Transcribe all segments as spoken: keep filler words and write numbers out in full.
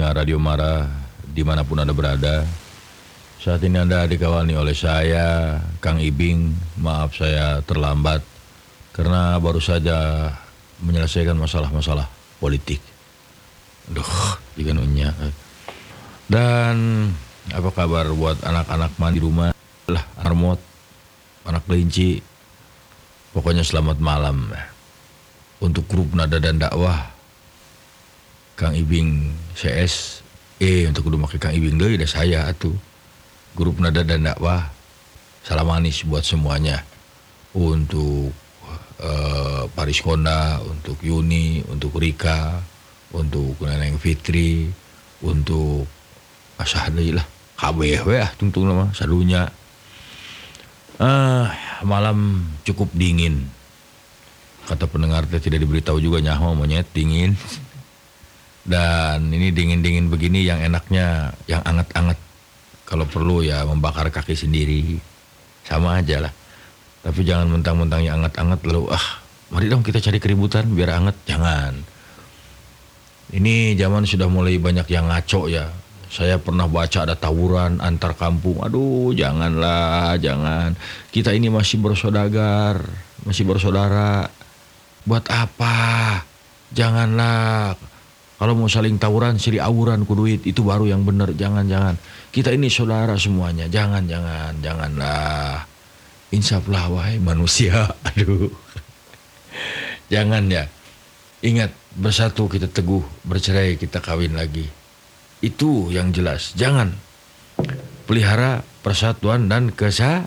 pendengar Radio Mara dimanapun Anda berada. Saat ini Anda dikawani oleh saya, Kang Ibing. Maaf saya terlambat karena baru saja menyelesaikan masalah-masalah politik. Aduh, juga nunyak. Dan apa kabar buat anak-anak mandi rumah lah, armot, anak kelinci. Pokoknya selamat malam untuk grup Nada dan Dakwah Kang Ibing C S. Eh untuk kudu make Kang Ibing deui da saya atuh. Grup Nada dan Dakwah salam manis buat semuanya. Untuk uh, Paris Konda, untuk Yuni, untuk Rika, untuk Neneng Fitri, untuk asah deui lah kabeh we ah tungtung mah sadunya. Ah, malam cukup dingin. Kata pendengar teh tidak diberitahu juga nyaho monyet dingin. Dan ini dingin-dingin begini yang enaknya yang anget-anget. Kalau perlu ya membakar kaki sendiri. Sama aja lah. Tapi jangan mentang-mentang yang anget-anget lalu ah, mari dong kita cari keributan biar anget. Jangan. Ini zaman sudah mulai banyak yang ngaco ya. Saya pernah baca ada tawuran antar kampung. Aduh, janganlah, jangan. Kita ini masih bersaudara, masih bersaudara. Buat apa? Janganlah. Kalau mau saling tawuran, siri awuran ku duit, itu baru yang benar. Jangan, jangan. Kita ini saudara semuanya. Jangan, jangan, janganlah. Insaflah wahai manusia. Aduh. Jangan ya. Ingat, bersatu kita teguh, bercerai kita kawin lagi. Itu yang jelas. Jangan pelihara persatuan dan kesa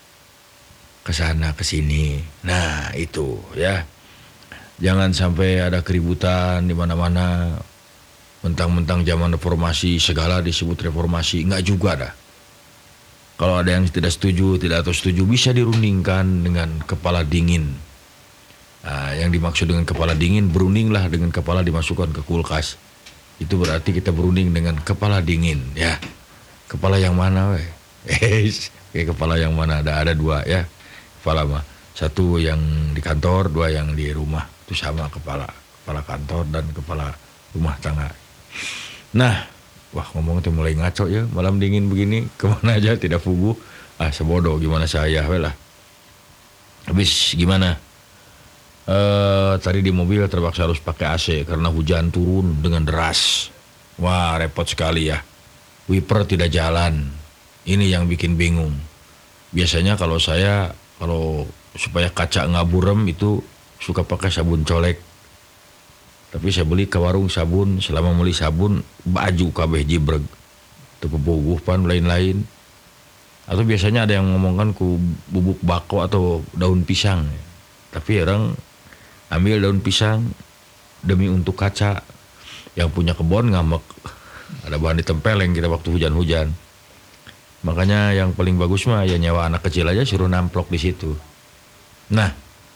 kesana kesini. Nah itu ya. Jangan sampai ada keributan di mana-mana. Mentang-mentang zaman reformasi segala disebut reformasi, enggak juga dah. Kalau ada yang tidak setuju, tidak atau setuju bisa dirundingkan dengan kepala dingin. Nah, yang dimaksud dengan kepala dingin, berundinglah dengan kepala dimasukkan ke kulkas. Itu berarti kita berunding dengan kepala dingin ya. Kepala yang mana weh? Eh, kayak kepala yang mana ada ada dua ya. Kepala mah satu yang di kantor, dua yang di rumah. Itu sama kepala, kepala kantor dan kepala rumah tangga. Nah, wah ngomong tuh mulai ngaco ya, malam dingin begini, kemana aja tidak fugu. Ah sebodoh gimana saya weh lah. Habis gimana? Uh, tadi di mobil terpaksa harus pakai A C karena hujan turun dengan deras. Wah repot sekali ya. Wiper tidak jalan. Ini yang bikin bingung. Biasanya kalau saya kalau supaya kaca nggak burem itu suka pakai sabun colek. Tapi saya beli ke warung sabun, selama beli sabun baju kabeh jibreg. Tepebuguh pan lain-lain. Atau biasanya ada yang ngomongkan ku bubuk bako atau daun pisang. Tapi orang ambil daun pisang demi untuk kaca. Yang punya kebon ngambek. Ada bahan ditempeleng kita waktu hujan-hujan. Makanya yang paling bagus mah ya nyawa anak kecil aja suruh namplok di situ. Nah,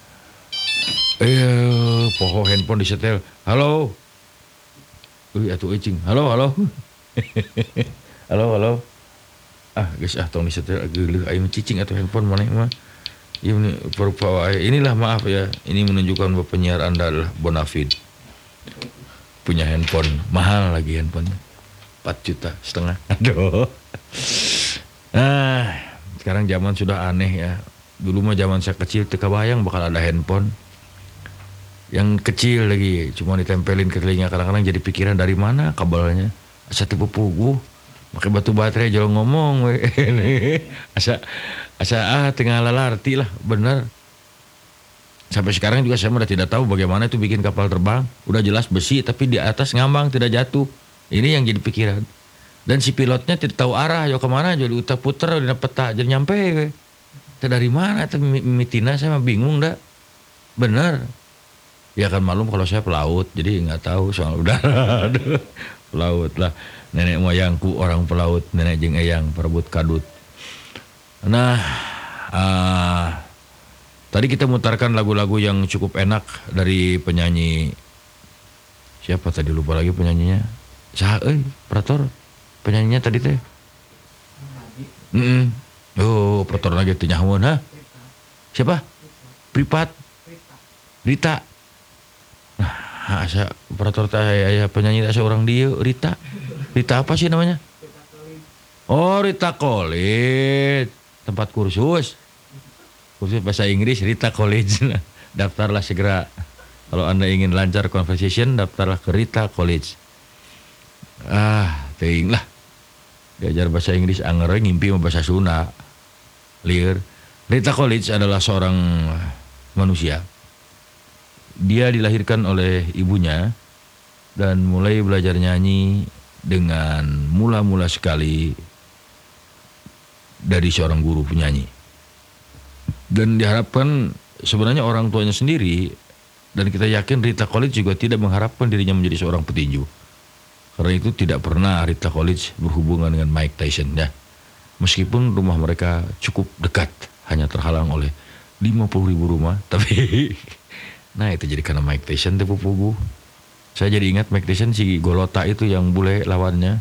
eh poho handphone disetel. Halo. Uy atuh ecing. Halo, halo. Halo, halo. Ah, geus ah tong disetel geuleuh aya cicing atuh handphone maneh mah. Ya, inilah maaf ya, ini menunjukkan bahwa penyiar Anda adalah bonafide. Punya handphone, mahal lagi handphonenya. empat juta setengah. Aduh. Nah, sekarang zaman sudah aneh ya. Dulu mah zaman saya kecil teu kabayang bakal ada handphone. Yang kecil lagi, cuma ditempelin ke telinga, kadang-kadang jadi pikiran dari mana kabelnya. Asa teu puguh. Pakai batu baterai jauh ngomong we. Asa asa ah tengah lalarti lah, bener. Sampai sekarang juga saya udah tidak tahu bagaimana itu bikin kapal terbang. Udah jelas besi tapi di atas ngambang tidak jatuh. Ini yang jadi pikiran. Dan si pilotnya tidak tahu arah, yo kemana, jadi udah puter di peta jadi nyampe. We. Itu dari mana itu mitina saya mah bingung dah. Bener. Ya kan malum kalau saya pelaut, jadi nggak tahu soal udara. Pelaut lah. Nenek moyangku orang pelaut, nenek jeung eyang perebut kadut. Nah, uh, tadi kita mutarkan lagu-lagu yang cukup enak dari penyanyi. Siapa tadi lupa lagi penyanyinya? Saha euy, Prator. Penyanyinya tadi teh. Heeh. Oh, Prator lagi teh nyahoeun ha? Siapa? Pripat. Rita. Nah, asa Prator teh aya penyanyi asa orang dieu Rita. Rita apa sih namanya? Oh, Rita College. Tempat kursus. Kursus bahasa Inggris Rita College. Daftarlah segera. Kalau Anda ingin lancar conversation, daftarlah ke Rita College. Ah, teuing lah. Diajar bahasa Inggris anger ngimpi bahasa Sunda. Lieur. Rita College adalah seorang manusia. Dia dilahirkan oleh ibunya dan mulai belajar nyanyi dengan mula-mula sekali dari seorang guru penyanyi. Dan diharapkan sebenarnya orang tuanya sendiri, dan kita yakin Rita College juga tidak mengharapkan dirinya menjadi seorang petinju. Karena itu tidak pernah Rita College berhubungan dengan Mike Tyson ya. Meskipun rumah mereka cukup dekat, hanya terhalang oleh lima puluh ribu rumah, tapi nah itu jadi karena Mike Tyson tepu pugu. Saya jadi ingat Mike Tyson si Golota itu yang bule lawannya.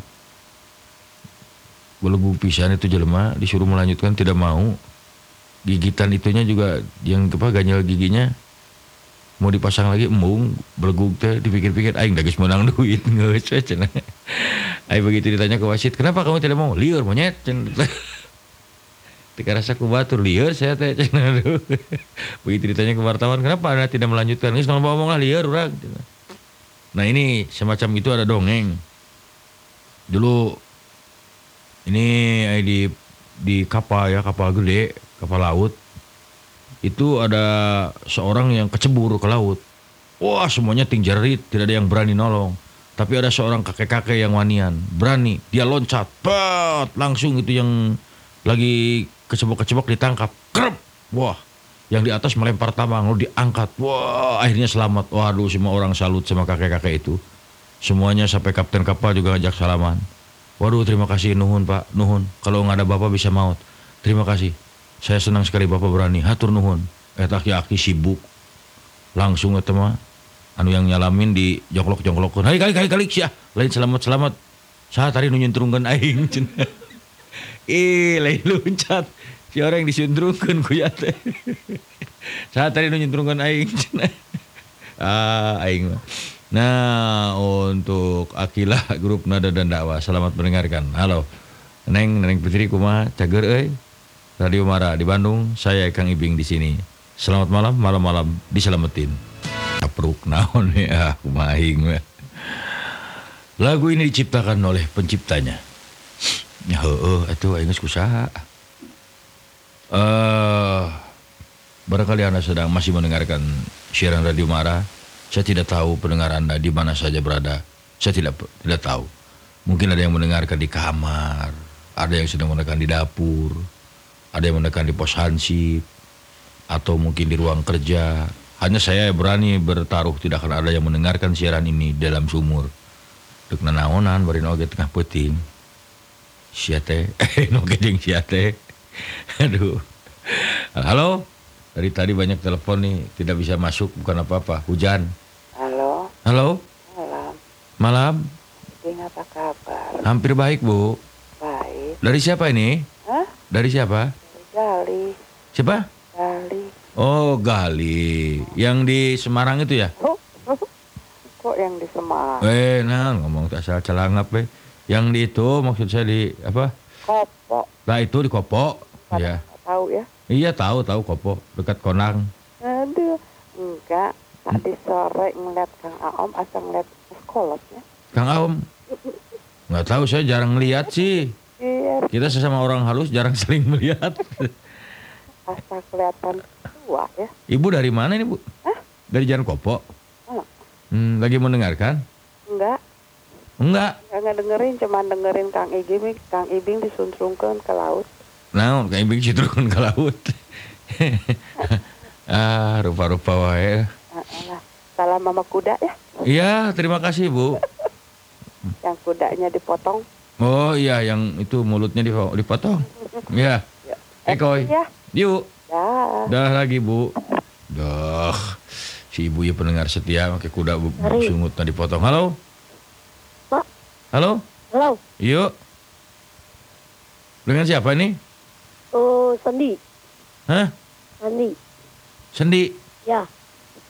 Belegu pisan itu jelema disuruh melanjutkan tidak mau. Gigitan itunya juga yang apa ganjel giginya mau dipasang lagi embung belegug teh dipikir-pikir aing da geus menang duit geus we cenah. Aing begitu ditanya ke wasit, "Kenapa kamu tidak mau?" "Lieur monyet." Cenah. Tika rasa ku batur lieur saya teh cenah. Begitu ditanya ke wartawan, "Kenapa Anda tidak melanjutkan?" "Geus ngomong lah lieur urang." Nah, ini semacam itu ada dongeng. Dulu ini di di kapal ya, kapal gede, kapal laut. Itu ada seorang yang kecebur ke laut. Wah, semuanya tingjerit, tidak ada yang berani nolong. Tapi ada seorang kakek-kakek yang wanian, berani. Dia loncat, pat, langsung itu yang lagi kecebok-kecebok ditangkap. Krep. Wah, yang di atas melempar tambang, lalu diangkat. Wah, akhirnya selamat. Waduh, semua orang salut sama kakek-kakek itu. Semuanya sampai kapten kapal juga ngajak salaman. Waduh, terima kasih, nuhun Pak, nuhun. Kalau nggak ada Bapak bisa maut. Terima kasih. Saya senang sekali Bapak berani. Hatur nuhun. Eta aki-aki sibuk. Langsung eta mah anu yang nyalamin di jongklok-jongklokkeun. Hai kali kali kali sia. Lain selamat-selamat. Saha tadi nu nyuntrungkeun aing cenah. Ih, lain loncat. Si orang yang disuntrungkeun ku ya teh. Saha tadi nu nyuntrungkeun aing cenah. Ah, aing mah. Nah, untuk Akilah grup Nada dan Dakwah. Selamat mendengarkan. Halo. Neng, Neng Putri kumaha? Cager euy. Radio Mara di Bandung, saya Kang Ibing di sini. Selamat malam, malam-malam diselamatin. Apruk naon ya, kumahing. Lagu ini diciptakan oleh penciptanya. Ya heueuh atuh aing geus kusaha. Eh barangkali Anda sedang masih mendengarkan siaran Radio Mara. Saya tidak tahu pendengar Anda di mana saja berada. Saya tidak tidak tahu. Mungkin ada yang mendengarkan di kamar, ada yang sedang mendengarkan di dapur. Ada yang menekan di pos hansip, atau mungkin di ruang kerja. Hanya saya berani bertaruh tidak akan ada yang mendengarkan siaran ini dalam sumur. Dek nanaonan bari oge tengah peuting. Sia teh, eh oge jeung sia teh. Aduh. Halo. Dari tadi banyak telepon nih, tidak bisa masuk bukan apa-apa, hujan. Halo. Halo. Malam. Malam. Ini apa kabar? Hampir baik, Bu. Baik. Dari siapa ini? Hah? Dari siapa? Gali. Siapa? Gali. Oh, Gali. Yang di Semarang itu ya? Oh, kok yang di Semarang? Eh, nah ngomong tak salah celangap eh. Yang di itu maksud saya di apa? Kopo. Nah itu di Kopo. Pada Ya. tahu ya? Iya tahu tahu Kopo dekat Konang. Aduh, enggak. Tadi sore ngeliat Kang Aom asal ngeliat sekolahnya. Kang Aom. Nggak tahu saya jarang lihat sih. Iya. Kita sesama orang halus jarang saling melihat. Asal kelihatan tua ya. Ibu dari mana ini Bu? Hah? Dari Jalan Kopo. Oh. Hmm, lagi mendengarkan? Enggak. Enggak. Enggak dengerin, cuman dengerin Kang Ibing, Kang Ibing disuntrungkeun ke laut. Nah, Kang Ibing citrun ke laut. Ah, rupa-rupa wae. Nah, salam mama kuda ya. Iya, terima kasih Bu. Yang kudanya dipotong. Oh iya, yang itu mulutnya dipotong. Iya. Eh, Koy. Ya. Yuk. Ya. Dah lagi, Bu. Dah. Si ibu ya pendengar setia pakai kuda bu- sungutnya dipotong. Halo? Pak. Halo? Halo. Yuk. Dengan siapa ini? Oh, Sendi. Hah? Sendi. Sendi. Ya.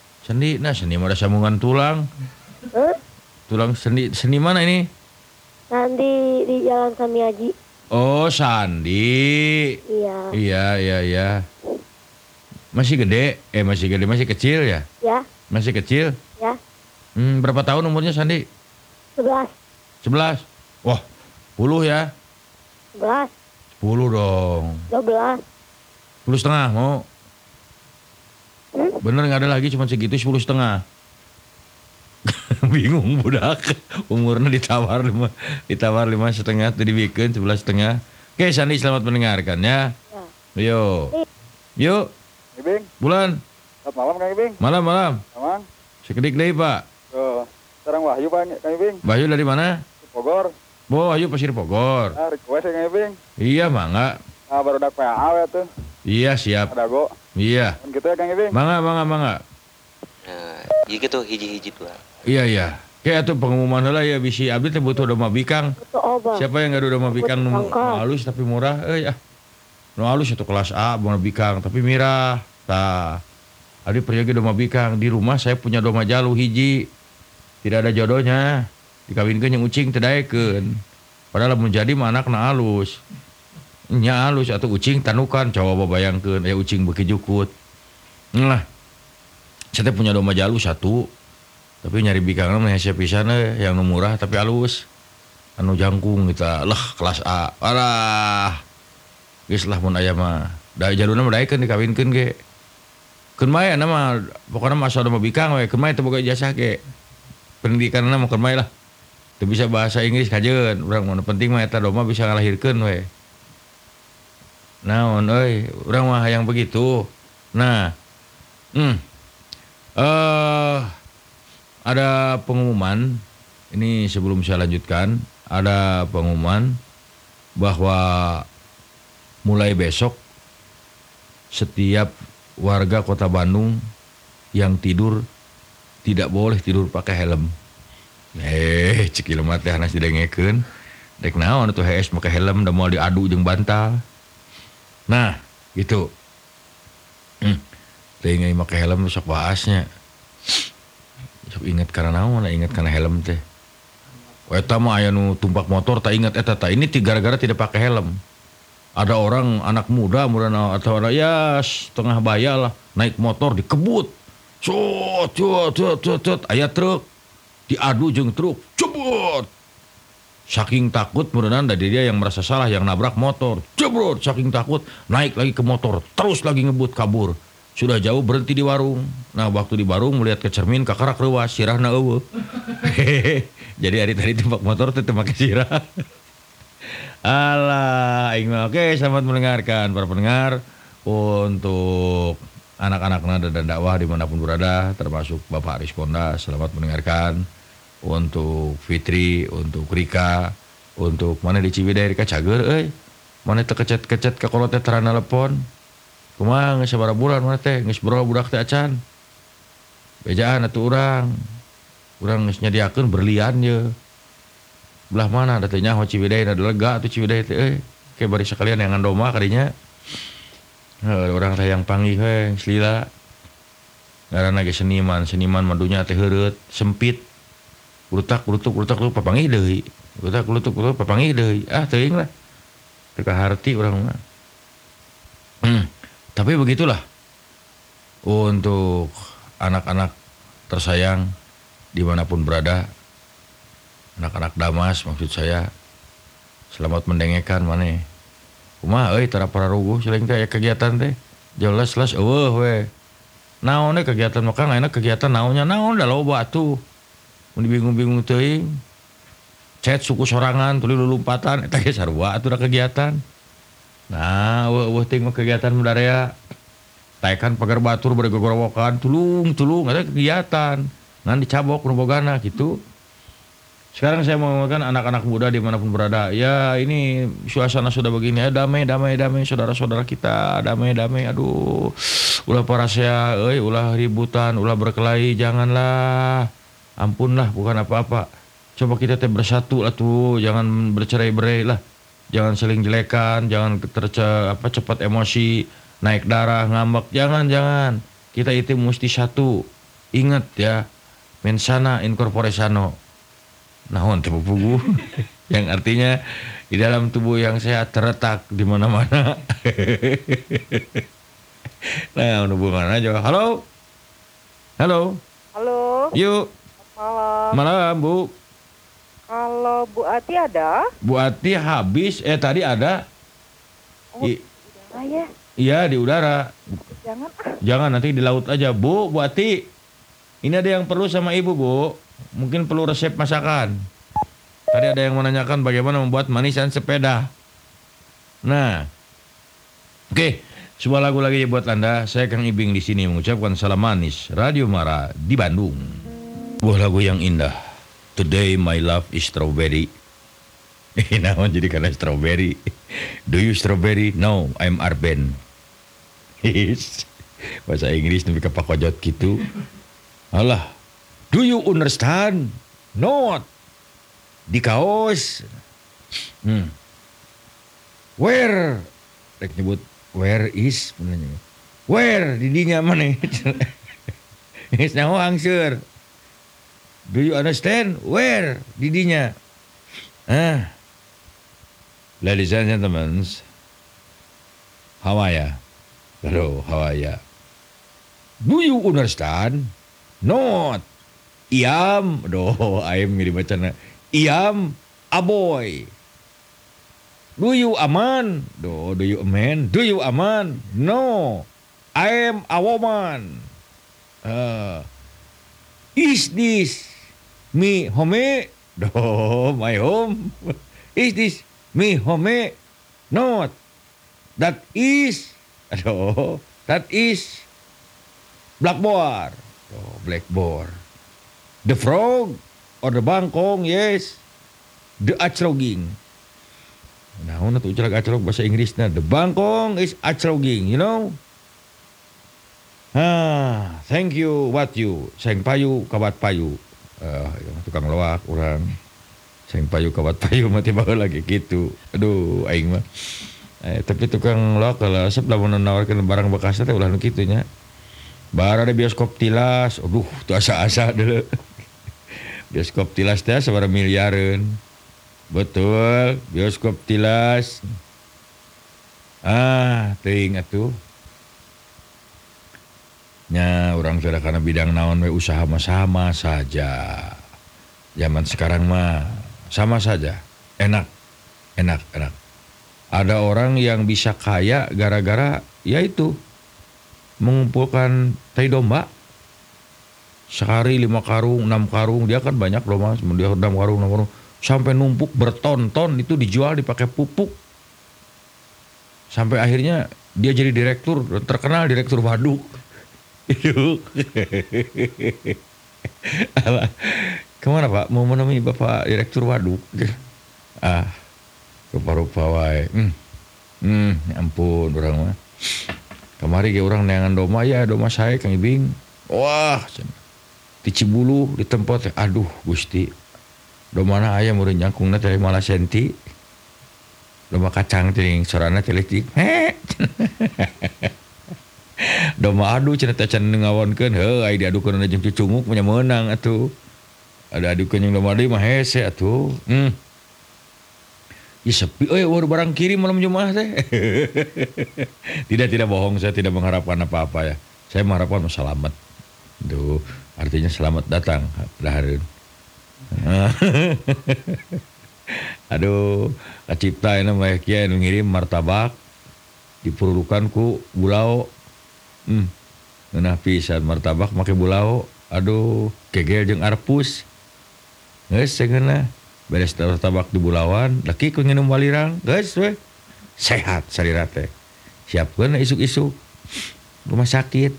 Sendi. Nah, sendi mah ada sambungan tulang. Hah? Tulang sendi. Sendi mana ini? Sandi di Jalan Samiaji. Oh, Sandi. Iya. Iya, iya, iya. Masih gede? Eh, masih gede, masih kecil ya? Ya. Masih kecil? Ya. Hmm, berapa tahun umurnya Sandi? Sebelas. Sebelas? Wah, sepuluh ya? Sebelas. Sepuluh dong. Dua belas. Sepuluh setengah mau? Hmm? Bener nggak ada lagi cuma segitu sepuluh setengah. Bingung budak. Umurnya ditawar lima, ditawar lima setengah, tadi bikin sebelas setengah. Oke, Sandi selamat mendengarkan ya. Ya. Yuk, yuk. Ibing, Bulan. selamat malam Kang Ibing. Malam malam. Mamang, Sekedik deh Pak. tuh, sekarang Wahyu Pak Kang Ibing. Bayu dari mana? Bogor. Bo, Bayu Pasir Bogor. Nah, request ya Kang Ibing. Iya mangga. Nah, baru dak P A ya tuh. Iya siap. Ada go. Iya. Kan gitu ya Kang Ibing. Mangga mangga mangga. Nah, gitu hiji-hiji tuh. Iya iya. Kayak tuh pengumuman lah ya bisi abdi teh butuh domba bikang. Itu obat. Siapa yang nggak ada domba bikang nu nu Bangka. halus tapi murah? Eh ya. Nu halus itu kelas A domba bikang tapi mirah. Tah. Abdi pergi domba bikang di rumah saya punya domba jalu hiji. Tidak ada jodohnya. Dikawinkeun yang ucing teu daekeun. Padahal mun jadi mah anakna halus. Nya halus atau ucing tanukan coba bayangkeun aya ucing beuki jukut. Nah. Saya teh punya domba jalu satu. Tapi nyari bikangna mah hese pisan euy yang nu murah tapi halus. Anu jangkung kita lah kelas A. Alah. Geus lah mun aya mah. Da jaluna mah daekeun dikawinkeun ge. Keun mae mah pokona mah asal domba bikang we, keun mae teu boga ijazah ge. Pendidikanna mah keun mae lah. Teu bisa bahasa Inggris kajeun. Urang mah penting mah eta domba bisa ngalahirkeun we. Naon euy, urang mah hayang begitu. Nah. Hmm. Eh uh, ada pengumuman, ini sebelum saya lanjutkan, ada pengumuman bahwa mulai besok setiap warga Kota Bandung yang tidur tidak boleh tidur pakai helm. Eh, cek ilmu teh hanas didengekeun. Dek naon atuh hees pakai helm da moal diadu jeung bantal. Nah, gitu. Hmm. Teh ingat pakai helm sok bahasnya. Sok ingat karena naon, ingat karena helm teh. Eta mah aya nu tumpak motor tak ingat eta tah ini gara-gara tidak pakai helm. Ada orang anak muda muda atau ada ya setengah baya lah naik motor dikebut. Cot cot cot cot cot aya truk diadu jeung truk jebot. Saking takut mudahan dari dia yang merasa salah yang nabrak motor. Jebrot saking takut naik lagi ke motor terus lagi ngebut kabur. Sudah jauh berhenti di warung. Nah waktu di warung melihat ke cermin kakarak rewas sirahna eueuh. Jadi hari tadi tempat motor teh teu make sirah. Alah, aing mah oke selamat mendengarkan para pendengar untuk anak-anak nada dan dakwah dimanapun berada termasuk Bapak Aris Ponda selamat mendengarkan untuk Fitri, untuk Rika, untuk mana di Ciwidey Rika Cager euy. Mana teu kecet-kecet ka kolot teh terana telepon. Kumaha geus sabaraha bulan mana teh geus boro budak teh acan. Bejaan atuh urang. Urang geus nyadiakeun berlian ye. Belah mana da teh nyaho Ciwidey da lega atuh Ciwidey teh euy. Ke bari sakalian yang ngandoma kadinya. Heuh urang teh yang panggih we Slila. Ngaranna ge seniman, seniman madunya teh heureut, sempit. Urutak urutuk urutak lu papanggih deui. Urutak urutuk urutuk papanggih deui. Ah teuing lah. Teu kaharti urang mah. Hmm. Tapi begitulah untuk anak-anak tersayang dimanapun berada, anak-anak Damas maksud saya, selamat mendengarkan mana. Kumaha euy tara pararuguh selain teh aya kegiatan teh, jelas-jelas eueuh we. Naon teh kegiatan maka enak kegiatan naonnya naon da loba atuh. Mun bingung-bingung teuing. Chat suku sorangan tuluy lulumpatan eta ge sarua atuh da kegiatan. Nah, eueuh ting mah kegiatan budaya. Taekan pagar batur bari gogorowokan, tulung-tulung ada kegiatan. Ngan dicabok nu bogana gitu. Sekarang saya mau ngomongkan anak-anak muda dimanapun berada. Ya ini suasana sudah begini. Ya damai, damai, damai saudara-saudara kita. Damai, damai. Aduh, ulah parasea, euy, ulah ributan, ulah berkelahi. Janganlah. Ampunlah, bukan apa-apa. Coba kita teh bersatu lah tuh. Jangan bercerai-berai lah. Jangan saling jelekan, jangan terce apa cepat emosi, naik darah, ngambek. Jangan, jangan. Kita itu mesti satu. Ingat ya. Mensana in corpore sano. Naon teh pugu. Yang artinya di dalam tubuh yang sehat terletak di mana-mana. Nah, hubungan aja. Halo. Halo. Halo, Yuk. malam. Malam, Bu. Kalau Bu Ati ada? Bu Ati habis. Eh, tadi ada. Oh, I- Ah ya, iya, di udara. jangan ah. Jangan, nanti di laut aja. Bu, Bu Ati. Ini ada yang perlu sama Ibu, Bu. Mungkin perlu resep masakan. Tadi ada yang menanyakan bagaimana membuat manisan sepeda. Nah. Oke, sebuah lagu lagi buat Anda. Saya Kang Ibing di sini mengucapkan salam manis. Radio Mara di Bandung. Sebuah lagu yang indah. Today my love is strawberry. Eh, naon jadi karena strawberry. Do you strawberry? No, I'm Arben. Yes. Bahasa Inggris lebih ke pakojot gitu. Alah. Do you understand? Not. Di kaos. Hmm. Where? Rek nyebut where is? Menanya. Where? Didinya mana? Is now answer. Do you understand? Where? Didinya. Ah. Ladies and gentlemen, how are ya? Hello, how are ya? Do you understand? Not. Iam. Doh, ayam ini bacana. Iam aboy. Do you aman? Do, do you aman? Do you aman? No. I am a woman. Uh, is this me home? Do, my home. Is this me home? Not. That is. Aduh, that is blackboard. Oh, blackboard. The frog or the bangkong, yes. The acroging. Nah, una tuh ucap acrog bahasa Inggrisnya. The bangkong is acroging, you know? Ah, thank you, what you? Seng payu, kawat payu. Uh, tukang loak, orang. Seng payu, kawat payu, mati bawa lagi gitu. Aduh, aing mah. Eh, tapi tukang loak kalau asap lah menawarkan barang bekasnya teh ulah nu kitu nya. Bar ada bioskop tilas. Aduh, tuh asa-asa dulu. Bioskop tilas teh sabaraha miliareun. Betul, bioskop tilas. Ah, teuing atuh. Nya orang sudah karena bidang naon we usaha mah sama saja. Zaman sekarang mah sama saja. Enak. Enak, enak. Ada orang yang bisa kaya gara-gara yaitu mengumpulkan tai domba. Sehari lima karung, enam karung, dia kan banyak loh mas. Dia enam karung, enam karung. Sampai numpuk berton-ton itu dijual dipakai pupuk. Sampai akhirnya dia jadi direktur, terkenal direktur waduk. Itu. Kemana Pak? Mau menemui Bapak direktur waduk? Ah, rupa-rupa wae. Hmm. Hmm, ya ampun orang mah. Kemari ge urang neangan doma ya, doma saya Kang Ibing. Wah, di Cibulu di tempat aduh Gusti. Domana aya mureun nyangkungna teh malah senti. Doma kacang teh sorana teh leutik. Doma adu cenah teh can ngawonkeun heuh aya diadukeun jeung cucunguk punya meunang atuh. Ada adukeun jeung doma deui mah hese atuh. Hmm. Ya sepi, oh ya barang kirim malam Jumat teh. Tidak, tidak bohong, saya tidak mengharapkan apa-apa ya. Saya mengharapkan selamat. Tuh, artinya selamat datang. Dahareun. Aduh, kacipta ini mah kieu anu ngirim martabak dipurudukan ku bulao. Hmm. Ngeunah pisan martabak make bulao. Aduh, kegel jeung arpus. Geus cengeunna. Beres martabak di bulawan, laki ku nginum walirang, geus we. Sehat sarira teh. Siapkeun isuk-isuk. Rumah sakit.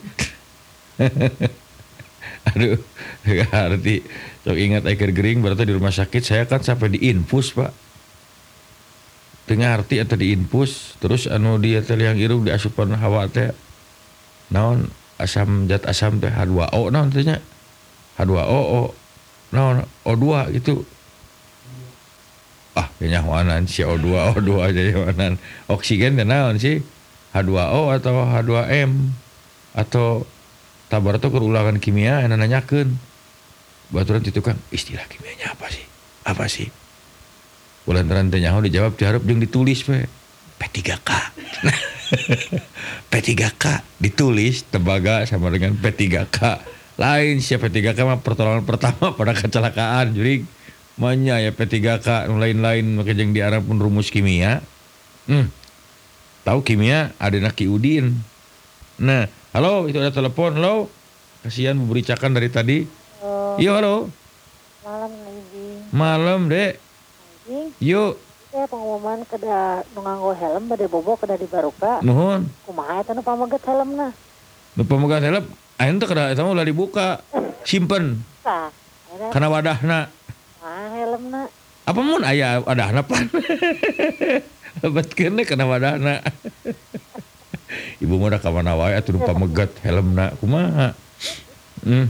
Aduh, arti sok ingat air gering berarti di rumah sakit saya kan sampai diinfus, Pak. Tengah arti atau diinfus, terus anu dia teh liang irung diasupan hawa teh. Naon asam zat asam teh H dua O naon teh nya? H dua O O. Naon O dua gitu. Ah, kenyawanan si O dua O dua aja nyawanan. Oksigen teh naon sih? H dua O atau H dua M atau tabar tuh kerulangan kimia yang nanyakeun. Baturan itu kan istilah kimianya apa sih? Apa sih? Kulantaran teh nyaho dijawab diharap jeung ditulis we. P tiga K. P tiga K ditulis tembaga sama dengan P tiga K. Lain siapa P tiga K mah pertolongan pertama pada kecelakaan jurig. Manya ya P tiga K lain-lain make jeung diarang pun rumus kimia. Hmm. Tahu kimia ada Ki Udin. Nah, halo itu ada telepon. Halo. Kasihan membericakan dari tadi. Halo. Iya halo. Malam Ibing. Malam dek. Ibing. Yuk. Saya pengumuman kada nu nganggo helm bade bobo kada di Baruka. Nuhun. Kumaha eta nu pameget helmna? Nu pamegat helm ayeuna teh kada eta mah ulah dibuka. Simpen. Tah. Ayeuna Kana wadahna. kumaha helmna? Apa mun aya wadahna pan? Lebetkeun kana wadahna. Ibu mah da ka mana wae atuh nu pamegat helmna. Kumaha? Hmm.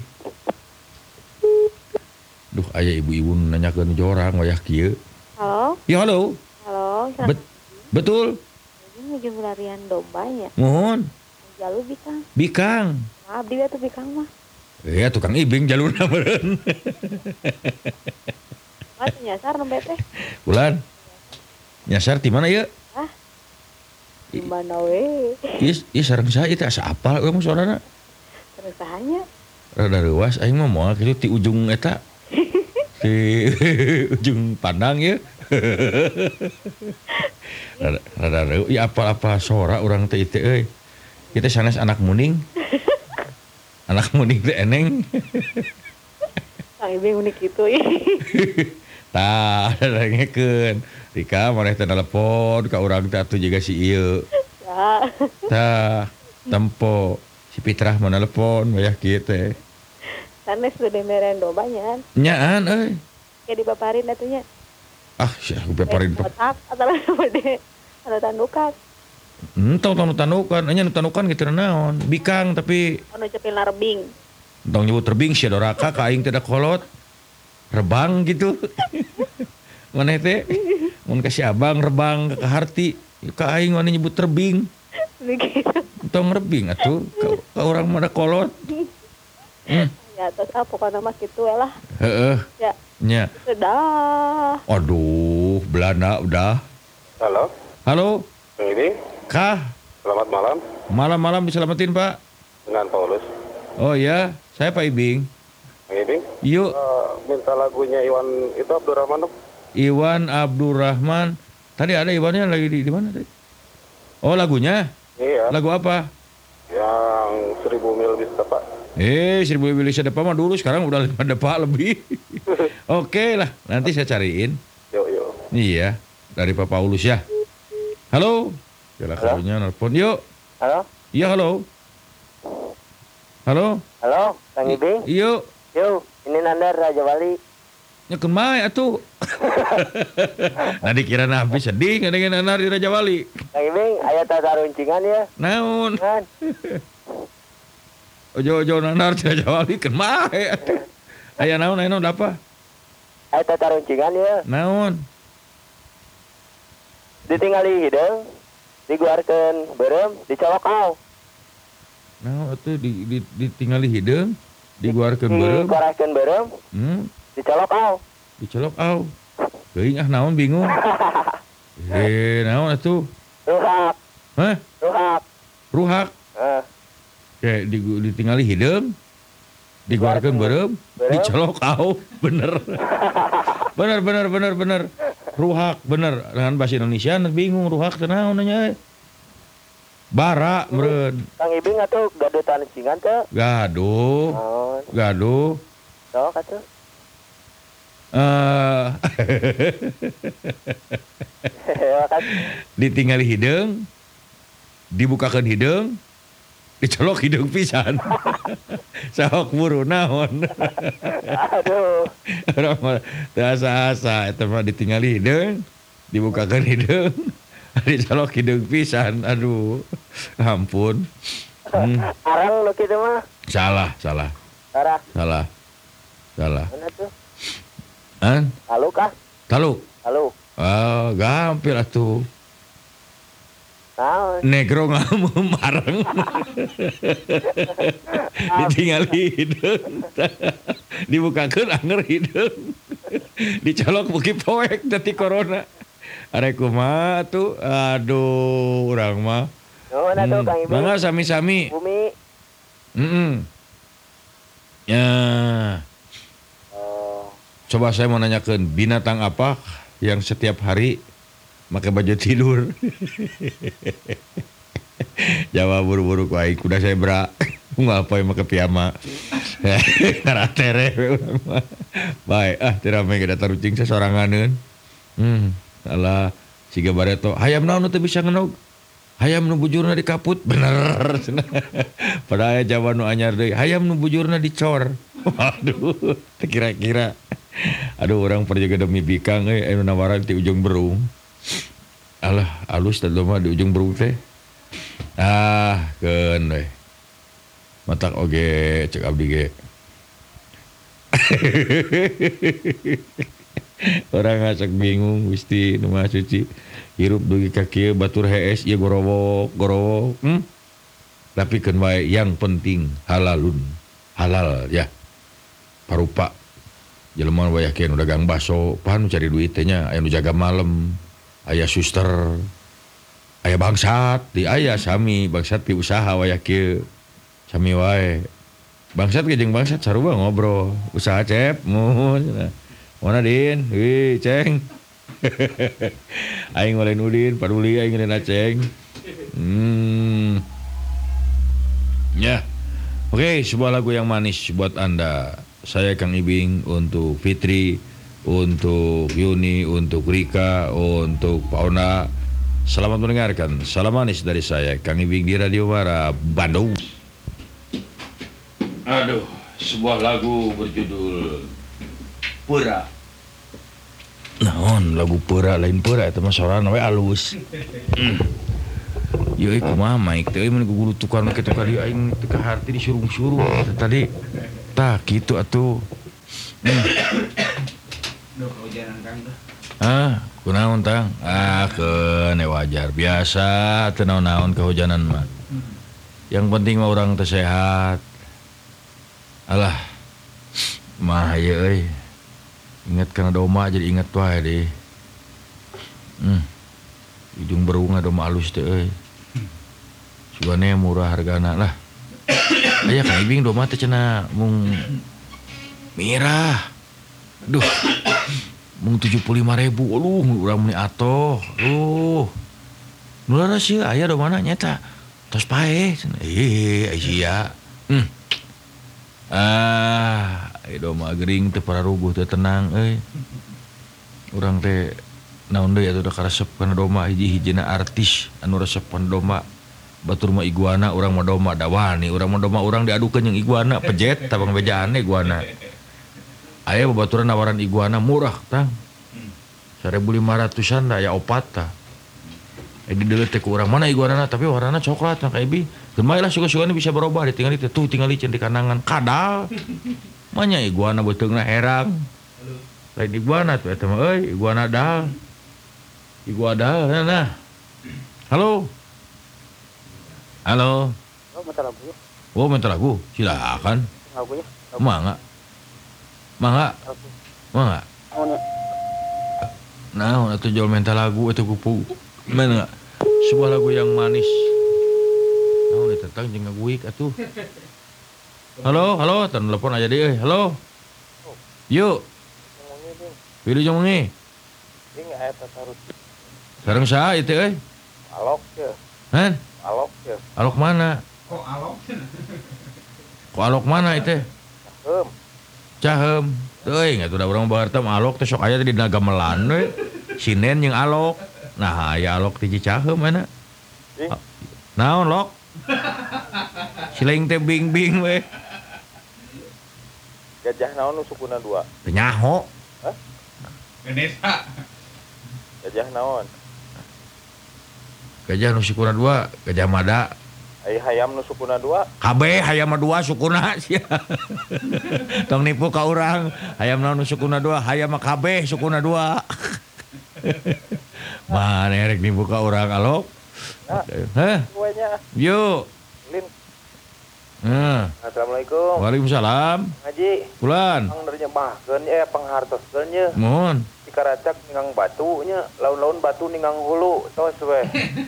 Duh aya ibu-ibu nanyakeun jorang wayah kieu. Halo, Ya halo. halo. Bet betul. Ini lagi pelarian domba ya. Mohon. Jalu bikang. Bikang. Maaf dia tuh bikang mah. Ya tukang ibing jalurna meureun. Mas nyasar nembe teh. Bulan. Nyasar di mana ya? Ah. Di mana we? Ieu ieu sareng saha ieu teh asa apal we mah suarana. Terus sahanya. Rada reuas aing mah moal kitu ti ujung eta. Di ujung pandang ya. rada rada reuh ya apa-apa sora urang teh teh euy. Kita sanes anak muning. Anak muning teh eneng. Kang Ibing unik gitu. Tah ada ngekeun. Rika maneh teh telepon ka urang teh atuh jiga si ieu. Ya. Tah tempo si Fitrah mah telepon wayah kieu teh. Sanes udah meren dombanya. Nyaan euy. Kayak dibaparin atunya. Ah sia beparin. Otak atau bade. Ada tandukan. Entong tong tanukan, anya nu tanukan kitu naon? Bikang tapi Anu cepil rebing. tong nyebut rebing sia doraka ka aing teh da kolot. Rebang gitu. Maneh teh mun ka si abang rebang ka harti, ka aing mana nyebut rebing. Begitu. Tong rebing atuh ka, ka urang mah da kolot. Hmm. Ya terus ah pokoknya mah gitu ya lah. Heeh. Ya. Nya. Sudah. Aduh, Belanda udah. Halo, Halo, Kang Ibing. Kah? Selamat malam Malam-malam diselamatin, Pak. dengan Paulus. Oh ya, saya Pak Ibing. Kang Ibing, Yuk, eh, minta lagunya Iwan itu Abdurrahman dong. Iwan Abdurrahman. Tadi ada Iwannya lagi di di mana tadi? Oh, lagunya? Iya, Lagu apa? yang seribu mil bisa Pak. Eh, seribu mili depan mah dulu, sekarang udah lima depan lebih. Oke lah, nanti saya cariin. Yuk, yuk. Iya, dari Pak Paulus ya. Halo. Yalah karunya nelpon. Yuk. Halo, Iya, halo. Halo. halo, Kang Ibing. Yuk. Yo, ini Nandar Raja Wali. Nyekeun bae atuh. Nah dikira nabi sedih ngadengin anar di Raja Wali. Kang Ibing, aya tata runcingan ya. Naon? Kan? Ojo-ojo nanar di Raja Wali keun bae atuh. Aya naon aya naon apa? Aya tata runcingan ya. Naon? Ditinggali hideung, diguarkeun beureum, dicolok aw. Naon atuh di, di ditinggali hideung, diguarkeun beureum. Dikorahkeun beureum, Hmm, dicolok aw. dicolok aw. Teuing ah naon bingung. Eh, naon atuh? Ruhak, Hah? ruhak. Ruhak. Eh, Kayak di, ditinggali hideung, diguarkeun beureum, dicolok aw. Bener. Bener bener bener bener. Ruhak bener dengan bahasa Indonesia bingung ruhak teh naon nya. Bara meureun. Kang Ibing atuh gaduh tata runcingan teh. Gaduh. Naon? Gaduh. Sok atuh. Eh Makasih. ditinggali hideung, dibukakeun hideung, dicolok hideung pisan. Sok buru naon. Aduh. Urang mah teu asa-asa eta mah ditinggali hideung, dibukakeun hideung, dicolok hideung pisan. Aduh. Ampun. Hmm. Arang lu kitu mah. Salah, salah. Sarah, Salah. Salah. mana tuh? An? Halo kah? Taluk. Halo. Ah, gampil atuh. Naon? Negro ngamu mareng. Ditinggali hideung. Dibukakeun anger hideung. Dicolok beuki poek dati corona. Arek kumaha tuh? Aduh, urang mah. Nuhun atuh Kang Ibing. Mangga sami-sami. Bumi. Heeh. Ya. Oh, Coba saya mau nanyakan binatang apa yang setiap hari pakai baju tidur? Jawab buru-buru ku aing kuda zebra. Nggak apa yang pakai piyama. Karena tere urang mah. Baik, ah teu rame ge datar ucing sasoranganeun. Hmm, alah siga bareto, hayam naon teu bisa ngenog? Hayam nu bujurna dikaput, bener. Padahal aya jawaban nu anyar deui, hayam nu bujurna dicor. Waduh, kira-kira. Aduh, orang perjaga demi bikang euy, anu nawaran ti ujung berung. Alah, alus teh mah di ujung berung teh. Ah, keun we. Matak oge cek abdi ge. Orang ngacak bingung Gusti nu Maha Suci. Hirup dugi ka kieu batur hees ieu gorowok gorowok. Hmm? Tapi keun wae yang penting halalun. Halal ya. Parupa. Jelema we yakin dagang baso, pan cari duit teh nya, aya nu jaga malam, aya suster, aya bangsat, di aya sami bangsat ti usaha we kieu. Sami wae. Bangsat ge jeung bangsat sarua ngobrol. Usaha cep mun. Mana Din? Wih, Ceng. Aing ngelain Udin, paduli aing ngelain Aceng. Hmm. Ya. Oke, sebuah lagu yang manis buat Anda. Saya Kang Ibing untuk Fitri, untuk Yuni, untuk Rika, untuk Pauna. Selamat mendengarkan. Salam manis dari saya Kang Ibing di Radio Mara Bandung. Aduh, sebuah lagu berjudul Pura. Naon lagu pura lain pura eta mah sorana we alus. Hmm. Yeuy kumaha maik teh mun guru tukar kitu kali aing teu ka harti disuruh-suruh tadi. Tah kitu atuh. Hmm. Duh kehujanan Kang teh. Ah, kunaon tang? Ah, keun wajar biasa teu naon-naon kehujanan mah. Yang penting mah urang teh sehat. Alah. Mah ieu euy. Ingat karena doma jadi ingat wae deh. Hmm. Ujung berung doma alus teh euy. Sugane murah hargana lah. Aya Kang Ibing doma teh cenah mung mirah. Duh. Mung tujuh puluh lima ribu. Aduh, urang meni atoh. Duh. Nu laras ieu aya domana nyata. Tos pae cenah. Eh, sia. Hmm. Ah, ieu mah gering teu pararuguh teu tenang euy. Urang teh naon deui atuh da karesep kana doma hiji-hijina artis anu resep kana doma. Batur mah iguana, urang mah doma da wani, urang mah doma urang diadukeun jeung iguana pejet tabang bejaan iguana. Aya babaturan nawaran iguana murah tang. seribu lima ratusan da aya opat tah. Eh di deuleu teh ku urang mana iguanana tapi warnana coklat Kang Ibing. Gemai lah suka-sukanya bisa berubah ditinggal itu tuh tinggal licin di kanangan kadal manya iguana beteungna herang lain iguana tuh eta mah euy iguana dal iguana dal nah halo halo oh minta lagu. oh minta lagu silakan Lagunya. mangga mangga mangga nah atuh jual minta lagu itu kupu mana sebuah lagu yang manis. Oh, ditentang jeung ngaguik atuh. Halo, halo, telepon aja deh. Halo. Yuk. Pilih jeung mengi. Ding aya tasarut. Sareng saha ieu teh euy? Alok teh. Han? Alok teh. Alok mana? Kok alok? Kok alok mana ieu teh? Heum. Caheum. Teuing atuh da urang baharta alok teh sok aya di Nagamelan we. Sinen jeung alok. Nah, aya alok ti Cicaheum mana? Naon lok? Silaing teh bing-bing we. Gajah naon nu sukuna dua? Teu nyaho. Hah? Ganesha. Gajah naon? Gajah nu sukuna dua, Gajah Mada. Ai hayam nu sukuna dua? Kabeh hayam mah dua sukuna sia. Tong nipu ka urang. Hayam naon nu sukuna dua, hayam mah kabeh sukuna dua. Mana erek nipu ka urang alok? Nah, Hah? kuenya Yuk. lin Nah, Assalamualaikum. Waalaikumsalam. Ngaji. Pulan. Ang dari nyembahkeun eh panghartoskeun ye. Mohon. Dikaracak ningang batu nya, laun-laun batu ningang hulu tos we.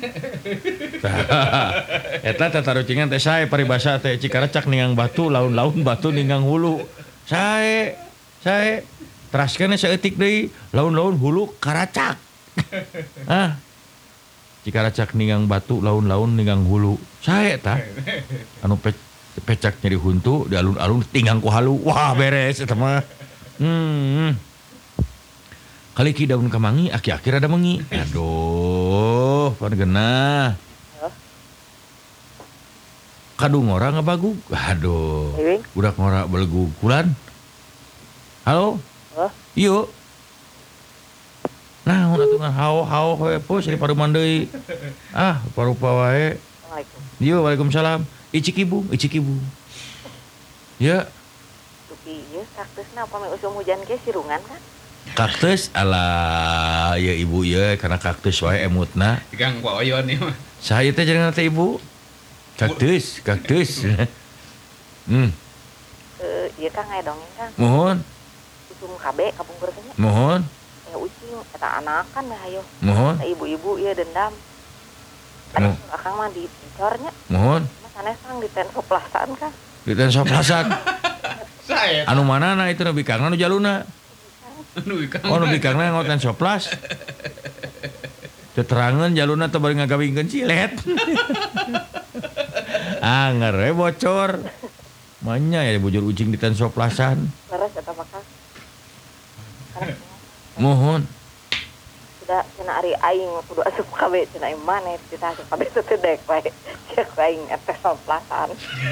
Eta tata rucingan teh sae paribasa teh Cikaracak ningang batu, laun-laun batu ningang hulu. Sae, sae. Teraskeun saeutik deui, laun-laun hulu karacak. Ah. Cikaracak ningang batu, laun-laun ningang hulu. Sae tah. Anu pe pecak nyeri huntu di alun-alun tinggang ku halu. Wah beres eta mah. Hmm. Kaliki daun kemangi, aki-aki rada mengi. Aduh, pan geunah. Kadung ngora ngabagug. Aduh. Budak ngora belegug kulan. Halo? Hah? Ieu. Nah, mun atuh hao-hao we pos di paruman deui. Ah, parupa wae. Assalamualaikum. Yo, waalaikumsalam. Icik ibu, icik ibu. Ya, Tupi ieu kaktusna apa me usum hujan ge sirungan kan? kaktus ala ya ibu ya karena kaktus wae emutna. Gang Pak Oyon nih mah. Saya teh jangan teh ibu. Kaktus, kaktus. Hmm, Eh, ieu Kang aya dongeng Kang. mohon, Usum kabe kapungkur teh nya. mohon, Ya ucing eta anakan dah hayo. mohon, Nah, ibu-ibu ieu dendam. Mo- Aduh, Akang mah dicornya. mohon. Mas sanes Kang di ten soplasaan Kang. Diten soplasan. Saya Anu manana itu nu bikangna nu jaluna. anu ikang. Oh nu bikangna ngoten soplas. Keterangan jaluna teu bari ngagawingkeun cilet. Anger we bocor. Manya ya bujur ucing di ten soplasan. Leres eta mah Kang. Mohon. Sudah cenah ari aing kudu asup kabe cenah ieu maneh kita asup kabe teh dek wae. Cek aing eta soplasaan.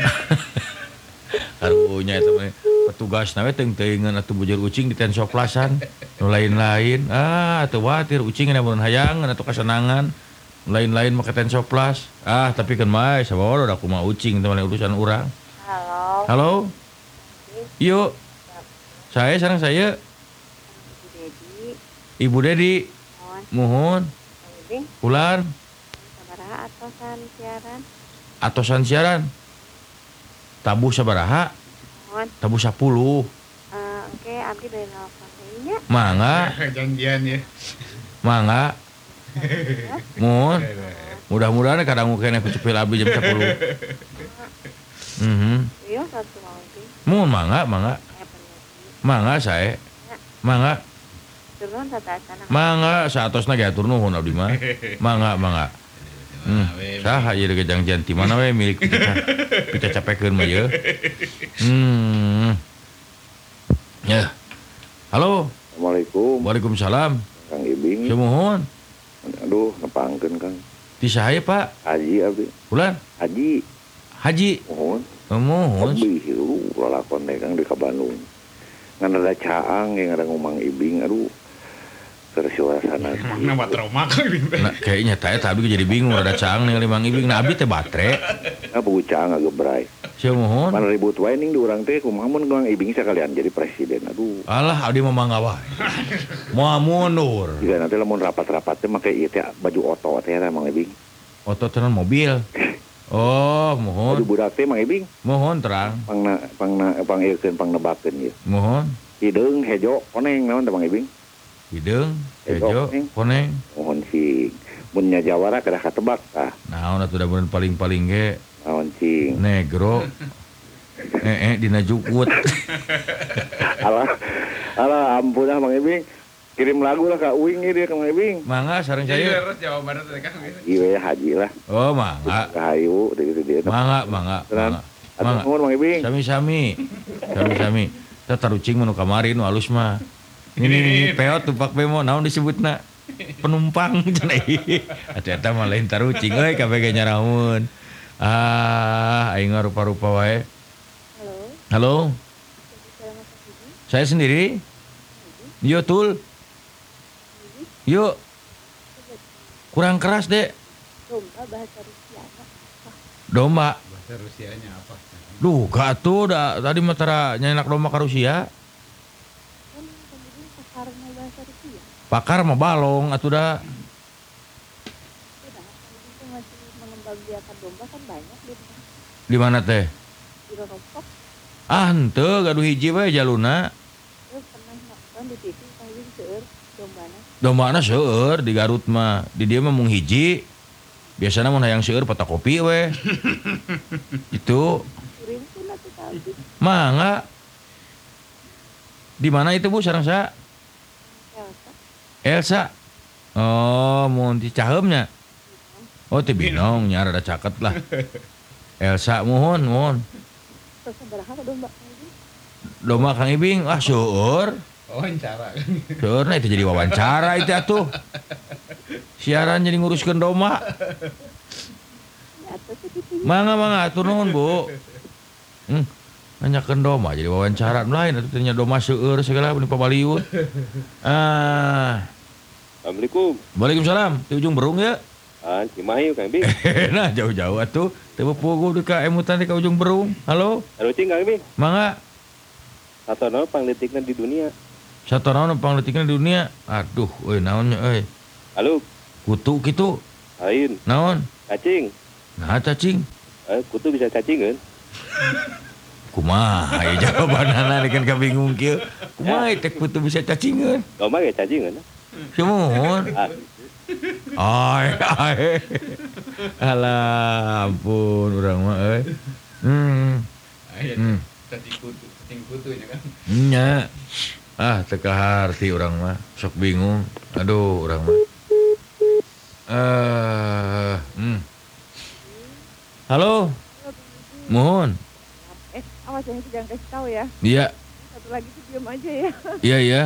Karunya eta mah petugas nawe teung-teungeun atuh bujur ucing di ten soplasan. Nu lain-lain. Ah, atuh watir ucing na mun hayangan atuh kasenangan. Nu lain-lain make ten soplas. Ah, tapi kan mah saboro da kumaha ucing teh urusan urang. Halo. Halo. Yuk. Saya sareng saya Ibu Dedi, Ibu Dedi. mohon Mohon. Kang Ibing Ulan sabaraha atosan siaran? atosan siaran. Tabuh sabaraha? Mohon. Tabuh sepuluh. Eh, oke abdi dari nelpon deui nya. Mangga, Janjian ya. mangga. Mohon. Mudah-mudahan kadang kene kucepil abdi jam sepuluh. Mhm. Iya satu mau Ibing. Mohon mangga, mangga. Eh penyanyi. Mangga saya. Mangga, Turun tatasan. mangga saatosna ge atur nuhun abdi mah. Mangga, mangga. Hmm. Saha ieu ge janjian ti mana we milik kita. Kita capekeun mah ieu. Hmm. Ya. Halo. Assalamualaikum, Waalaikumsalam. Kang Ibing. Semohon. Aduh, nepangkeun Kang. Ti saha Pak? Haji abdi. Ulan. Haji, Haji. mohon. Mohon. Abdi lu lalakon teh Kang di ka Bandung. Ngan ada caang yang ada ngomong Ibing, aduh. Keur suasana. Mana mah trauma Kang Ibing teh. Nah, kayaknya teh eta abdi jadi bingung rada caang ningali Mang Ibing. Nah, abdi teh batre. Nah, buku caang agak berai. Semohon. Mana ribut wae ning di urang teh kumaha mun Kang Ibing sekalian jadi presiden. Aduh. Alah, abdi mah mangga wae. Moal mundur. Jika nanti lamun rapat-rapat teh make ieu teh baju oto teh eta Mang Ibing. Otot tenan mobil. Oh, Baju mohon. budak teh Mang Ibing Mohon terang. pangna pangna pangeukeun pangnebakeun ieu. Mohon. Hideung hejo koneng naon teh Mang Ibing. Hideung, Hejo, hejo, Neng. koneng. Mohon sing mun nya jawara kada katebak tah. Naon atuh da beun paling-paling ge Naon sing. negro. Eh eh dina jukut. Alah, alah ampun ah Mang Ibing. Kirim lagu lah Kak Uing ieu ka Mang Ibing. Mangga sareng Jadi saya. terus jawabannya teh Kang. Ieu haji lah. Oh, mangga. Rahayu teh gitu dia. Mangga, mangga, Tenan. mangga. Atuh Mangga. nuhun Mang Ibing. Sami-sami. Sami-sami. Kita tarucing menu kamari nu alus mah. Ini nih peot tupak bemo naon disebutna? Penumpang cenah ieu. Atuh eta mah lain tarucing euy kabeh ge nyarahun. Ah, aing mah rupa-rupa wae. Halo. Halo, Salam Mas Ibing. saya sendiri. Yo tul. Yo. Kurang keras, Dek. Domba bahasa Rusia. Domba. Bahasa Rusianya apa? Duh, gak tuh da, tadi mah tara nyenak domba ka Rusia. Kan kemudian pakarnya bahasa Rusia. Pakar mah balong atuh da. Sudah, itu masih mengembangbiakan domba kan banyak di Di mana teh? Kira rompok. Ah henteu gaduh hiji we jaluna. Eh pernah nonton di T V Kang Ibing seueur dombana. Dombana seueur di Garut mah. Di dieu mah mung hiji. Biasana mun hayang seueur fotokopi we. Itu Kirimkeun atuh ka Ibing. mangga. Di mana itu Bu sareng sa? Elsa. Elsa. Oh, mun di Caheumnya. Oh, teh Binong nya rada caket lah. Elsa mohon, mohon. Terus sabaraha ka domba Kang Ibing? Domba Kang Ibing, ah seueur. Wawancara kan. Seueur nah itu jadi wawancara itu atuh. Siaran jadi nguruskeun domba. Ya atuh teh T V. Mangga mangga atur nuhun, Bu. Hmm, nanyakeun domba jadi wawancara lain atuh tanya domba seueur segala nu pabaliut. Ah, Assalamualaikum. Waalaikumsalam. Di ujung Berung ya. Ah, Cimahi Kang Ibing. Nah, jauh-jauh atuh. Teu puguh di ka emutan di ka ujung Berung. Halo, Arucing Kang Ibing. mangga. Satono pangletikna di dunia. Satona nu pangletikna di dunia. Aduh, euy naonnya euy. Halo, Kutu kitu. lain Naon? cacing. Nah, cacing. Eh, kutu bisa cacingeun. Kumaha aya jawabanana dikeun kabingung kieu. Kumaha teh kutu bisa cacingeun? Domba ge cacingeun. Sumuhun. Ah, Ai ai. Alah ampun urang mah euy. Hmm. Aya Hmm. cacing kutu, cacing kutunya kan. Nya. Ah, teu kaharti urang mah. Sok bingung. Aduh, urang mah. Eh, hmm. Halo. Mohon. Eh, awas yang itu jangan kasih tahu ya. Iya, Satu lagi tuh diam aja ya. iya iya.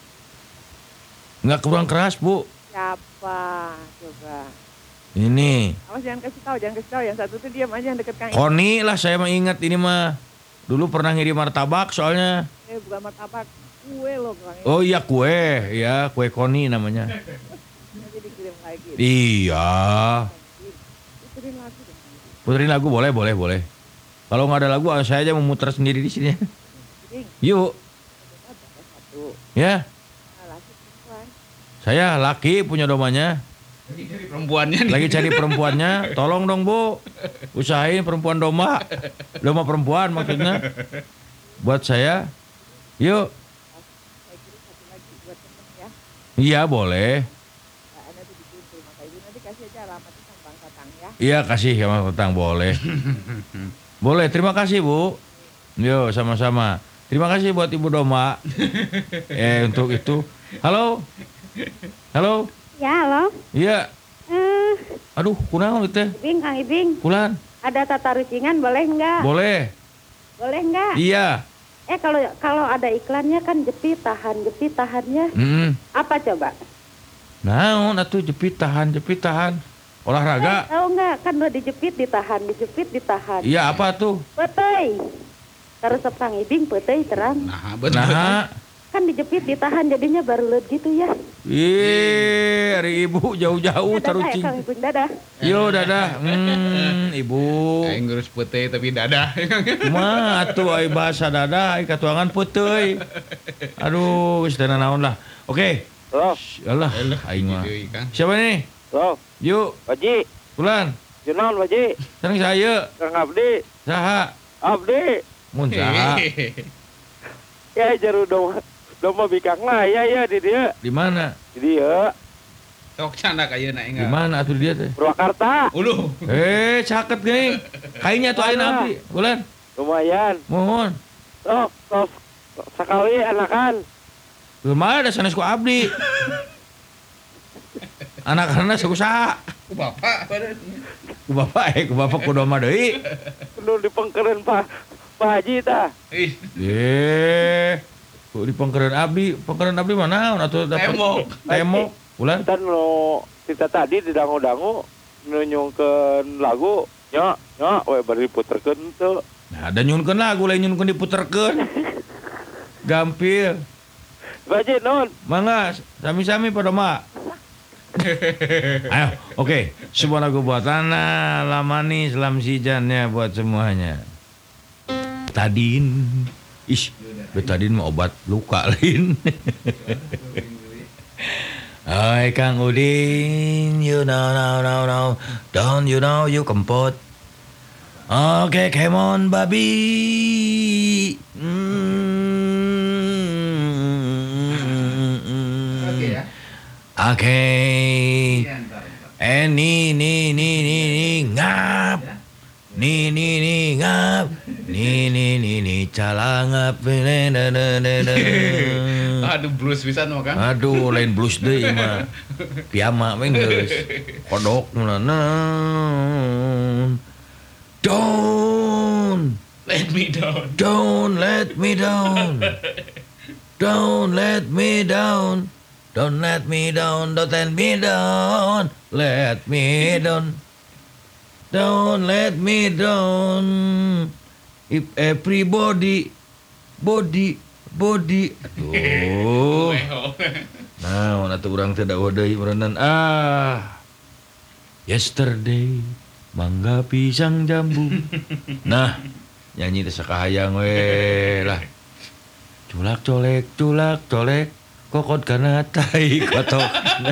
Enggak kurang keras, Bu. Siapa? Coba. Ini. Awas jangan kasih tahu, jangan kasih tahu. Yang satu tuh diam aja yang deket Kang Ibing. Koni lah saya mah ingat ini mah. Dulu pernah ngirim martabak soalnya. Eh, bukan martabak. Kue loh Kang Ibing. Oh iya kue, ya kue Koni namanya. Nanti dikirim lagi. Iya. Puterin lagu dong. Puterin lagu boleh, boleh, boleh. Kalau nggak ada lagu, saya aja memutar sendiri di sini. Ibing, Yuk, domba berapa satu? ya. Nah, laki perempuan. Saya laki punya domanya. Lagi cari perempuannya nih. Lagi cari perempuannya. Tolong dong Bu, usahain perempuan domba. Domba perempuan maksudnya. Buat saya. Yuk. Saya kirim satu lagi buat temen ya. Iya boleh. Nah, Anda tuh dikirim ke rumah Kak Ibing. Nanti kasih aja alamatnya sama Bang Tatang ya. Iya kasih ya Mas Tetang boleh. Boleh, terima kasih Bu. Yo sama-sama. Terima kasih buat Ibu Domba. eh untuk itu. Halo. Halo. Ya, halo. Iya. Eh, Aduh, kunaon itu teh? Ibing, Kang Ibing. Kulan. Ada tata rucingan boleh nggak? Boleh. Boleh nggak? Iya. Eh kalau kalau ada iklannya kan jepit tahan jepit tahannya Mm. apa coba? Naon atuh jepit tahan, jepit tahan. Olahraga. Tahu nggak kan udah dijepit ditahan dijepit ditahan. Iya apa tuh? Petei. Terus Kang Ibing petei terang. Nah, betul. Nah. Kan dijepit ditahan jadinya baru leut gitu ya. Ih, hari ibu jauh-jauh Ya, dadah ya tarucing. Kang Ibing dadah. Yo dadah. Hmm, ibu. Aing ngurus putih tapi dadah. Kumaha atuh ai bahasa dadah ai katuangan puteuy. Aduh, geus teu naon lah. Oke. Loh, Alah, aing mah. Deui, Kang. Siapa nih? loh, Yuk, Waji, Bulan. Junaun Waji, Sareng saya. Kang Abdi, Saha? Abdi, Mun saha? ya jaru domba, domba bikang lah, ya ya di dia, Di mana? di dia, Sok canda kayeuna Di enggak. mana atuh dia teh? Purwakarta, Uluh. Eh, caket geuning. Kayaknya tuh ayeuna abdi. Bulan. lumayan, Mohon. sok, sok, sekali anakan, Lumayan ada sanes ku abdi. Anak-anak sakusaha? Ku bapak badan. Ku bapak eh, ku bapak ku domba deui. penuh di pengkeren Pak, Pak Haji tah, Ih, Eh, ku di pengkeren abdi, pengkeren abdi mana? Atuh dapat Tembok. Tembok. Bulan. kita nu kita tadi di dangu-dangu nunyungkeun lagu, nya, nya, we bari puterkeun tuh, Nah, ada nyunkeun lagu lain nyunkeun diputerkeun. Gampil. Pak Haji nun, Mangga, sami-sami pada mak. Ayo, oke. Sebuah lagu buat Ana, Lamani, Selam Sijannya buat semuanya. Tadin. Ish, betadin mah obat luka lain. Hai Kang Udin, you know, know, know, know. Don't you know you kempot. Oke, come on, babi. Oke ya. Oke. Iya, ntar, ntar. Eh, nih, nih, nih, nih, nih, ngap. Nih, nih, nih, ngap. Nih, nih, nih, nih, cala ngap. Ne, ne, ne, ne, ne. Aduh, blues pisan mah kan. Aduh, lain blues deh mah. Piama we geus. Kodok naon. Don't Let me down. don't let me down. Don't let me down. Don't let me down. Don't let me down. Let me down. Don't let me down. If everybody body body. Aduh. Nah, atuh urang teh daeuh deui meureunan. Ah. Yesterday mangga pisang jambu. Nah, nyanyi teh sakahayang we lah. Culak colek, culak colek, kokot kana tai kotok.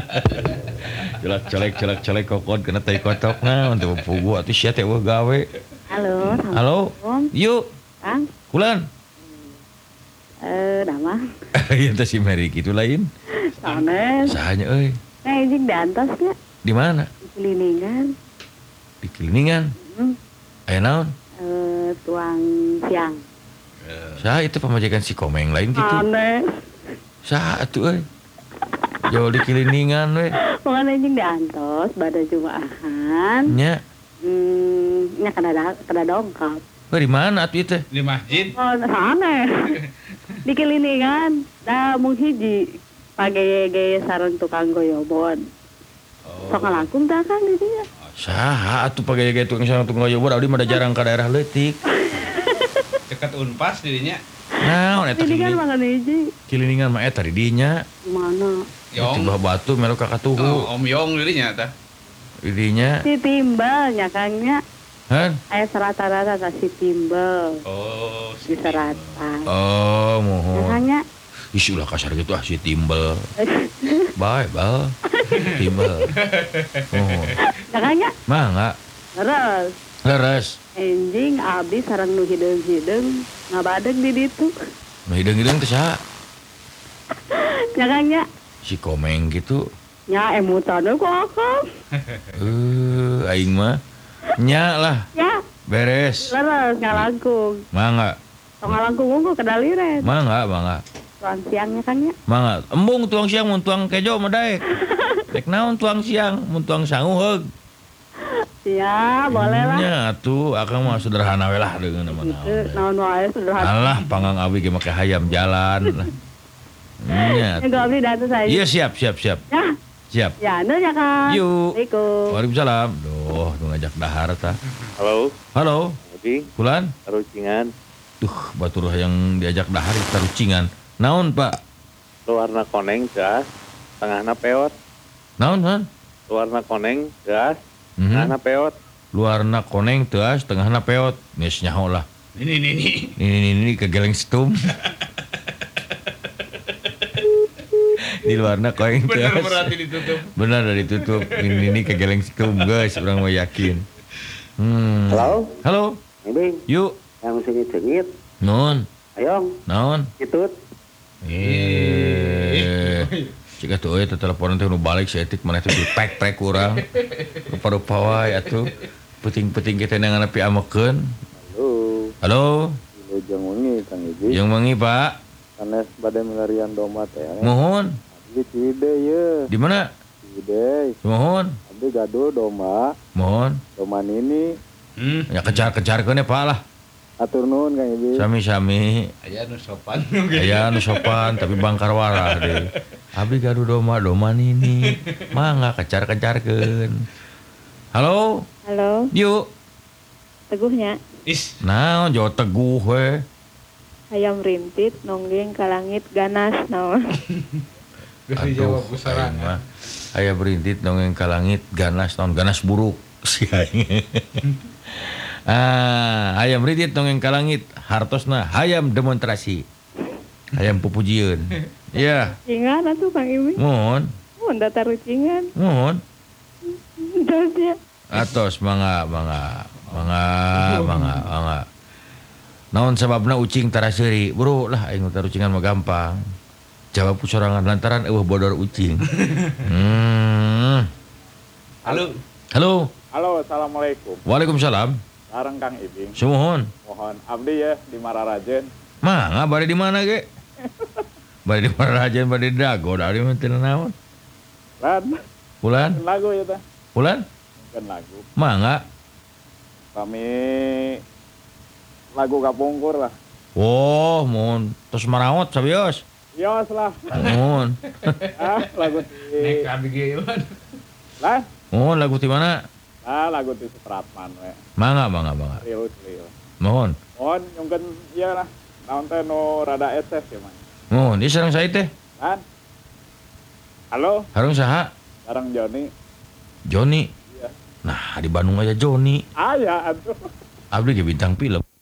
Culak colek, culak colek, kokot kana tai kotok. Nah, untuk pugu atuh sia teh eueuh gawe. Halo, Halo. Yuk, Kang. kulan. Eh, nama? Ieu teh si Mary kitu lain. Soalnya, Sahanya euy? nah izin di atas ya, Di mana? di kelilingan. Di Kiliningan. Hmm. Aya naon? Eh, tuang siang. Saha itu pamajikan si Komeng lain gitu. Aneh. Saha atuh euy? Jauh di Kiliningan we. Pokoknya izin di antos, pada Jumaahan. Nya, Hmm, nya kada da- kada dongkap. we di mana atuh ieu teh? Di masjid. Oh, sana. Di kelilingan, dah mung hiji. Pagaya-gaya sareng tukang goyobon. Sok ngalangkung tah Kang di dieu. Saha atuh pagaya-gaya tukang sareng tukang goyobon abdi mah da jarang ka daerah leutik. Dekat Unpas dirinya. Naon eta Ini kan Kiliningan? makan hiji. Kiliningan mah eta di dinya. Mana? Di Yong. bawah batu melu ka katuhu. Oh, Om Yong dirinya tah. Di dinya. Si timbal nya Kangnya. Han? Aya serata-rata ta si timbal. Oh, Di seratan. Oh, mohon. Makanya Isi ulah kasar gitu ah si timbel. Bye, bal. Timbel. Oh. makanya Mangga. terus Leres. enjing abdi sareng nu hideung-hideung ngabadeg di ditu. Nah, hidung-hidung teh saha? Makanya Si Komeng gitu. nya emutan kok Akang. Eh, aing mah nya lah, Ya, beres. terus ngalangkung. Mangga. Tong ngalangkung unggul kedaliren. Mangga, mangga. Tuan siangnya kan ya. Mangga. Embung tuang siang mun tuang kejo mah daek. Dek naon tuang siang mun tuang sangu heug. Ya, boleh lah. Nya atuh akang mah sederhana we lah dengan nama Gitu, naon. naon wae sederhana. Alah, panggang abi ge make hayam jalan. Nya. Yang abdi datang saya. Iya siap, siap, siap. Ya, Siap. ya anu ya Kang. Yuk. Assalamualaikum. Waalaikumsalam. Duh, nu ngajak dahar tah. Halo, Halo, Adi, Kulan. Rucingan, Duh, batur yang diajak dahar tarucingan. Naon, Pak? luarna koneng gas, tengahna peot, Naon, man? luarna koneng gas, Mhm. tengahna peot. Luarna koneng teas, tengahna peot. Geus nyaho lah. Ini nih nih. Ini ini ini kegeleng stum. Di luarna koneng Bener teas. berarti ditutup. Benar dari tutup. Ini ini kegeleng stum, guys. Orang mau yakin. Hmm. Halo, Halo. Ibing, Yuk. yang sengit-sengit, Naon? ayong, Naon? itut, Eh. Cika tuh euy teh teleponan teh nu balik si etik maneh teh dipek-pek urang. Rupa-rupa wae atuh. Puting-puting kita nang nepi amekeun. halo, Halo. halo jang wengi, Kang Ibi, Yang mangi, Pak? sanes bade melarian domba teh, Mohon. abdi cide ye, Di mana? cide, Mohon. abdi gaduh domba, Mohon. domba nini, Hmm. Ya kejar-kejarkeun ya, Pak lah. atur nuhun Kang Ibi, Sami-sami. Aya nu sopan. Aya nu sopan tapi bangkar warah deh. Abdi gaduh domba, domba nini. Mangga kejar-kejarkeun. Halo. Halo, Yuk. teguhnya. Is. Naon jauh teguh we. Ayam rintit nonggeng ka langit ganas naon. Geus Aduh, dijawab aing pusaran. mah. Aya berintit dongeng ka langit ganas naon ganas buruk si aing. Ah, hayam berintit dongeng ka langit hartosna hayam demonstrasi. Hayam pupujieun. Iya, Cingan atuh Kang Ibi. mohon, Mun data rucingan. mohon. Terus ya. Atos mangga mangga Mangga, mangga, mangga. Naon sababna ucing tara seuri? Bro lah aing tara ucingan mah gampang. Jawab sorangan lantaran eueuh bodor ucing. Hmm. Halo. Halo. Halo, assalamualaikum. Waalaikumsalam. Sareng Kang Ibing. Sumohon. Mohon abdi ya di Mararajen. Mangga bari di mana ge? Bari di Mararajen, bari di Dago, dari mah teu naon. Lan, Ulan? lagu ya teh. Ulan? Kan lagu. Mangga. Kami lagu kapungkur lah. Oh, mohon tos maraot sabios. Yos lah. Mohon. Ah, lagu di Nek abi ge man. lah. Mohon lagu di mana? Ah, lagu di Supratman we. Mangga, mangga, mangga. Rius, rius. Mohon. Mohon nyungkeun ieu lah. Naon teh nu rada etes ya, Man. Mohon, di sareng sae teh. Lan. Halo, Harung saha? sareng Joni. Joni. Iya. Nah, di Bandung aja Joni. Aya atuh. Abdi ge bintang film.